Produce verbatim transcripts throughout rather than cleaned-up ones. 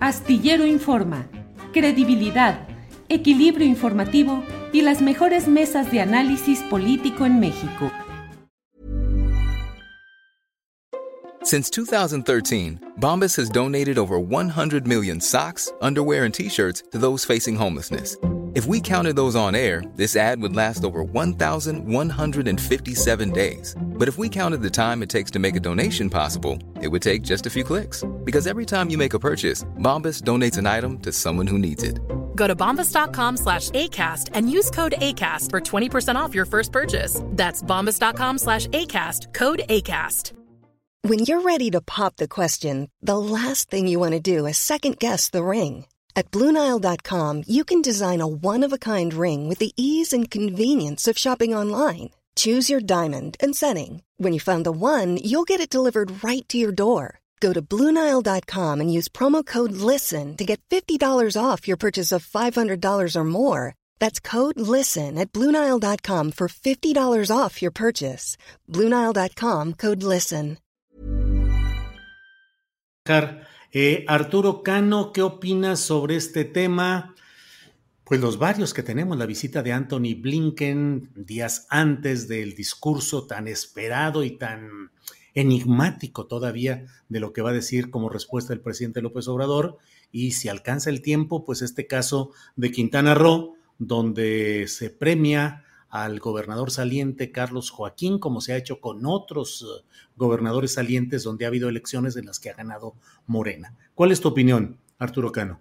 Astillero Informa, credibilidad, equilibrio informativo y las mejores mesas de análisis político en México. Since two thousand thirteen, Bombas has donated over one hundred million socks, underwear, and T-shirts to those facing homelessness. If we counted those on air, this ad would last over one thousand one hundred fifty-seven days. But if we counted the time it takes to make a donation possible, it would take just a few clicks. Because every time you make a purchase, Bombas donates an item to someone who needs it. Go to bombas.com slash ACAST and use code ACAST for twenty percent off your first purchase. That's bombas.com slash ACAST, code ACAST. When you're ready to pop the question, the last thing you want to do is second-guess the ring. At Blue Nile dot com, you can design a one-of-a-kind ring with the ease and convenience of shopping online. Choose your diamond and setting. When you find the one, you'll get it delivered right to your door. Go to Blue Nile dot com and use promo code LISTEN to get fifty dollars off your purchase of five hundred dollars or more. That's code LISTEN at Blue Nile dot com for fifty dollars off your purchase. Blue Nile dot com, code LISTEN. Eh, Arturo Cano, ¿qué opinas sobre este tema? Pues los varios que tenemos, la visita de Anthony Blinken días antes del discurso tan esperado y tan enigmático todavía de lo que va a decir como respuesta el presidente López Obrador, y si alcanza el tiempo, pues este caso de Quintana Roo, donde se premia al gobernador saliente Carlos Joaquín, como se ha hecho con otros uh, gobernadores salientes donde ha habido elecciones en las que ha ganado Morena. ¿Cuál es tu opinión, Arturo Cano?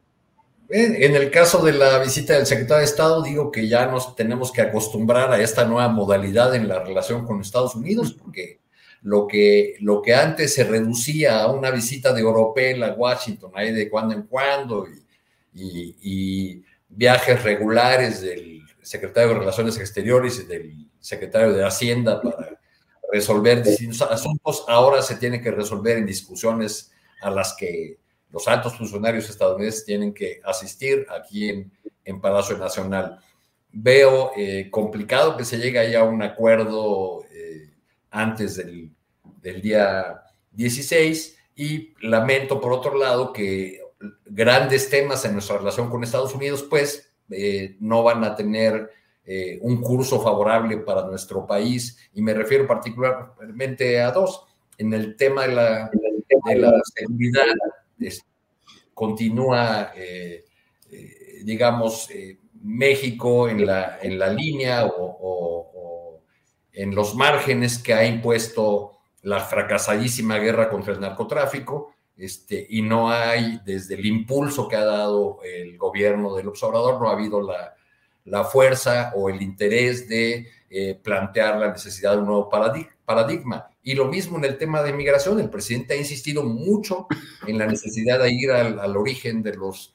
En el caso de la visita del secretario de Estado, digo que ya nos tenemos que acostumbrar a esta nueva modalidad en la relación con Estados Unidos, porque lo que, lo que antes se reducía a una visita de oropel a Washington, ahí de cuando en cuando, y, y, y viajes regulares del secretario de Relaciones Exteriores y del secretario de Hacienda para resolver distintos asuntos, ahora se tiene que resolver en discusiones a las que los altos funcionarios estadounidenses tienen que asistir aquí en, en Palacio Nacional. Veo eh, complicado que se llegue ahí a un acuerdo eh, antes del, del día dieciséis, y lamento, por otro lado, que grandes temas en nuestra relación con Estados Unidos, pues, Eh, no van a tener eh, un curso favorable para nuestro país, y me refiero particularmente a dos. En el tema de la, de la seguridad, es, continúa, eh, eh, digamos, eh, México en la, en la línea o, o, o en los márgenes que ha impuesto la fracasadísima guerra contra el narcotráfico. Este, y no hay, desde el impulso que ha dado el gobierno del López Obrador, no ha habido la, la fuerza o el interés de eh, plantear la necesidad de un nuevo paradigma. Y lo mismo en el tema de migración. El presidente ha insistido mucho en la necesidad de ir al, al origen de los,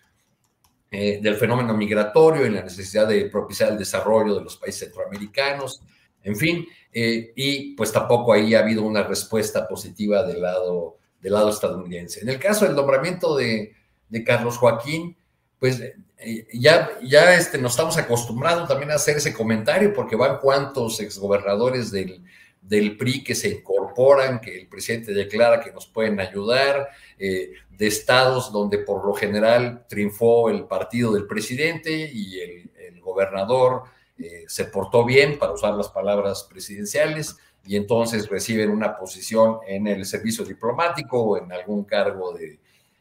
eh, del fenómeno migratorio, en la necesidad de propiciar el desarrollo de los países centroamericanos, en fin, eh, y pues tampoco ahí ha habido una respuesta positiva del lado del lado estadounidense. En el caso del nombramiento de, de Carlos Joaquín, pues eh, ya, ya este, nos estamos acostumbrando también a hacer ese comentario, porque van cuantos exgobernadores del, del P R I que se incorporan, que el presidente declara que nos pueden ayudar, eh, de estados donde por lo general triunfó el partido del presidente y el, el gobernador eh, se portó bien, para usar las palabras presidenciales, y entonces reciben una posición en el servicio diplomático o en algún cargo de,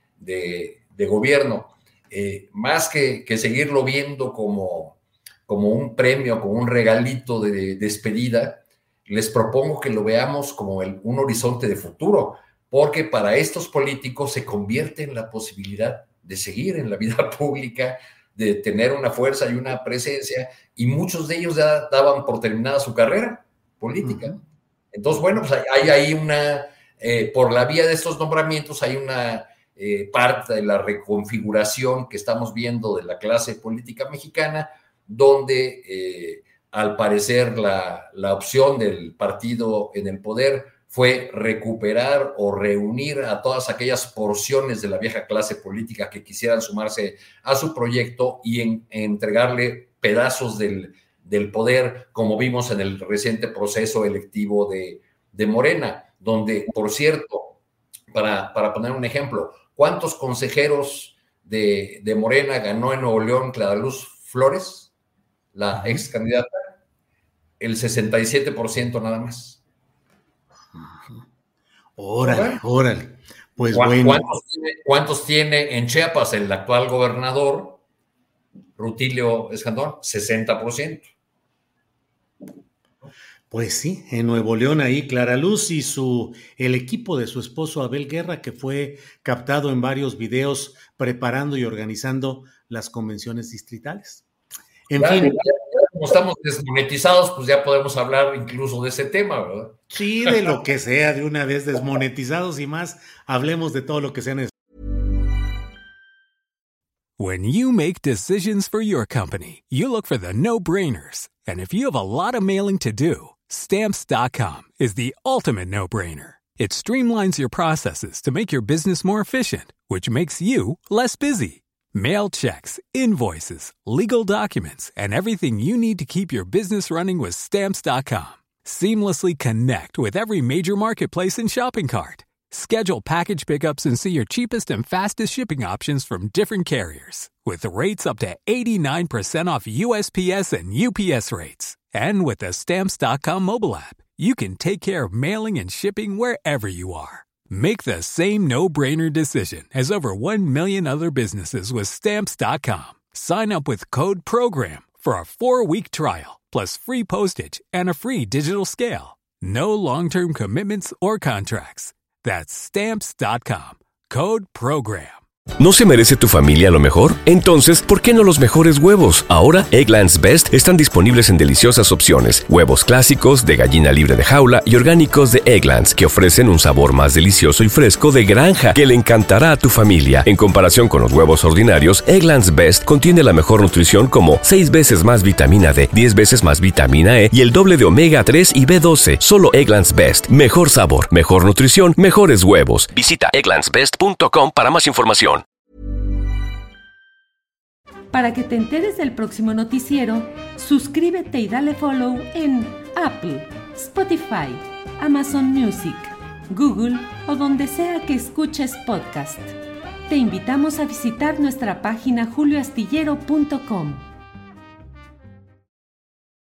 de, de gobierno. Eh, más que, que seguirlo viendo como, como un premio, como un regalito de despedida, les propongo que lo veamos como el, un horizonte de futuro, porque para estos políticos se convierte en la posibilidad de seguir en la vida pública, de tener una fuerza y una presencia, y muchos de ellos ya daban por terminada su carrera política. Uh-huh. Entonces, bueno, pues hay, hay ahí una, eh, por la vía de estos nombramientos, hay una eh, parte de la reconfiguración que estamos viendo de la clase política mexicana, donde eh, al parecer la, la opción del partido en el poder fue recuperar o reunir a todas aquellas porciones de la vieja clase política que quisieran sumarse a su proyecto y en, en entregarle pedazos del del poder, como vimos en el reciente proceso electivo de, de Morena, donde, por cierto, para, para poner un ejemplo, ¿cuántos consejeros de, de Morena ganó en Nuevo León Clara Luz Flores, la ex candidata, el sesenta y siete por ciento nada más. Órale, órale. Pues ¿Cuántos, bueno. ¿cuántos tiene, ¿Cuántos tiene en Chiapas el actual gobernador, Rutilio Escandón? sesenta por ciento. Pues sí, en Nuevo León ahí Clara Luz y su, el equipo de su esposo Abel Guerra, que fue captado en varios videos preparando y organizando las convenciones distritales. En ya, fin. Ya, ya, como estamos desmonetizados, pues ya podemos hablar incluso de ese tema, ¿verdad? Sí, de lo que sea, de una vez desmonetizados y más, hablemos de todo lo que sea necesario. When you make decisions for your company, you look for the no-brainers. And if you have a lot of mailing to do, Stamps dot com is the ultimate no-brainer. It streamlines your processes to make your business more efficient, which makes you less busy. Mail checks, invoices, legal documents, and everything you need to keep your business running with Stamps dot com. Seamlessly connect with every major marketplace and shopping cart. Schedule package pickups and see your cheapest and fastest shipping options from different carriers, with rates up to eighty-nine percent off U S P S and U P S rates. And with the Stamps dot com mobile app, you can take care of mailing and shipping wherever you are. Make the same no-brainer decision as over one million other businesses with Stamps dot com. Sign up with code PROGRAM for a four-week trial, plus free postage and a free digital scale. No long-term commitments or contracts. That's Stamps dot com. Code PROGRAM. ¿No se merece tu familia lo mejor? Entonces, ¿por qué no los mejores huevos? Ahora, Eggland's Best están disponibles en deliciosas opciones. Huevos clásicos, de gallina libre de jaula y orgánicos de Eggland's, que ofrecen un sabor más delicioso y fresco de granja que le encantará a tu familia. En comparación con los huevos ordinarios, Eggland's Best contiene la mejor nutrición como seis veces más vitamina D, diez veces más vitamina E y el doble de omega tres y B doce. Solo Eggland's Best. Mejor sabor, mejor nutrición, mejores huevos. Visita egglands best punto com para más información. Para que te enteres del próximo noticiero, suscríbete y dale follow en Apple, Spotify, Amazon Music, Google o donde sea que escuches podcast. Te invitamos a visitar nuestra página julio astillero punto com.